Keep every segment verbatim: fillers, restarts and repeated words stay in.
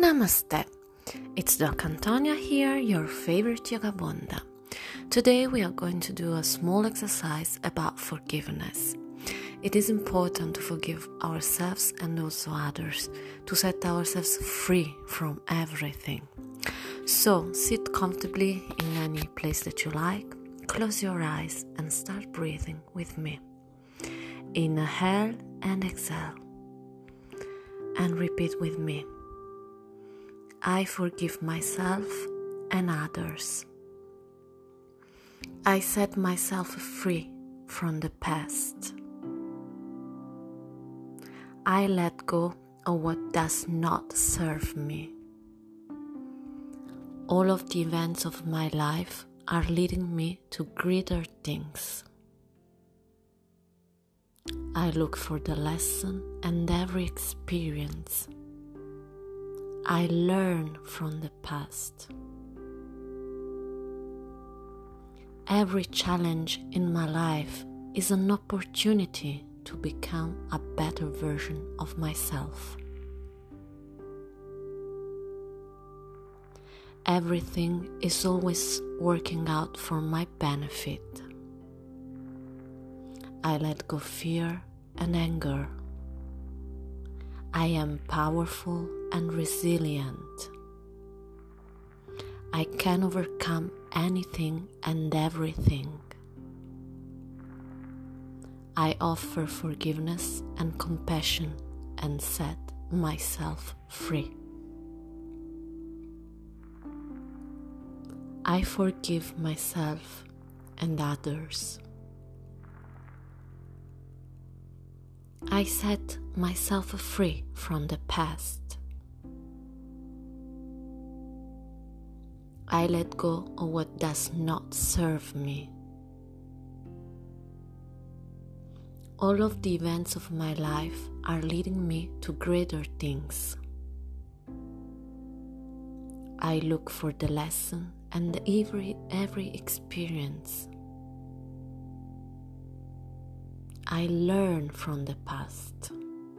Namaste. It's Doc Antonia here, your favorite yoga bonda. Today we are going to do a small exercise about forgiveness. It is important to forgive ourselves and also others, to set ourselves free from everything. So sit comfortably in any place that you like, close your eyes and start breathing with me. Inhale and exhale. And repeat with me. I forgive myself and others. I set myself free from the past. I let go of what does not serve me. All of the events of my life are leading me to greater things. I look for the lesson and every experience. I learn from the past. Every challenge in my life is an opportunity to become a better version of myself. Everything is always working out for my benefit. I let go fear and anger. I am powerful and resilient. I can overcome anything and everything. I offer forgiveness and compassion and set myself free. I forgive myself and others. I set myself free from the past. I let go of what does not serve me. All of the events of my life are leading me to greater things. I look for the lesson and every, every experience. I learn from the past.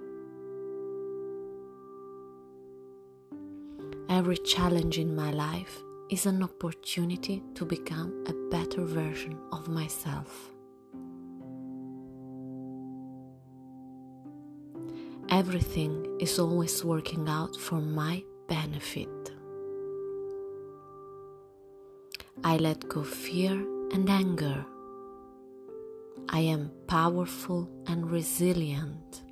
Every challenge in my life is an opportunity to become a better version of myself. Everything is always working out for my benefit. I let go fear and anger. I am powerful and resilient.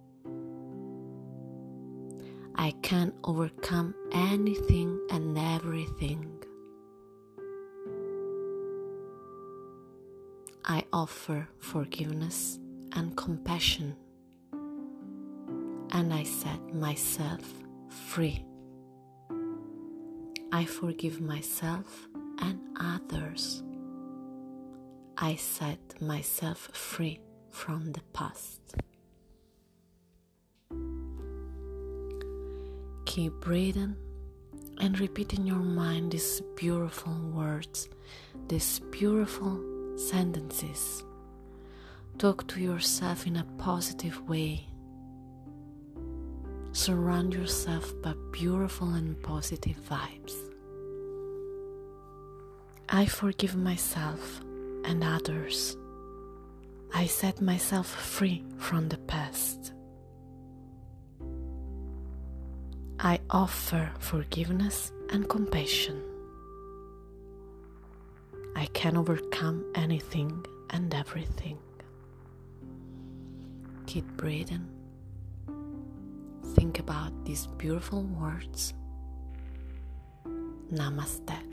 I can overcome anything and everything. I offer forgiveness and compassion, and I set myself free. I forgive myself and others. I set myself free from the past. Keep breathing and repeat in your mind these beautiful words, these beautiful sentences. Talk to yourself in a positive way. Surround yourself by beautiful and positive vibes. I forgive myself and others. I set myself free from the past. I offer forgiveness and compassion. I can overcome anything and everything. Keep breathing. Think about these beautiful words. Namaste.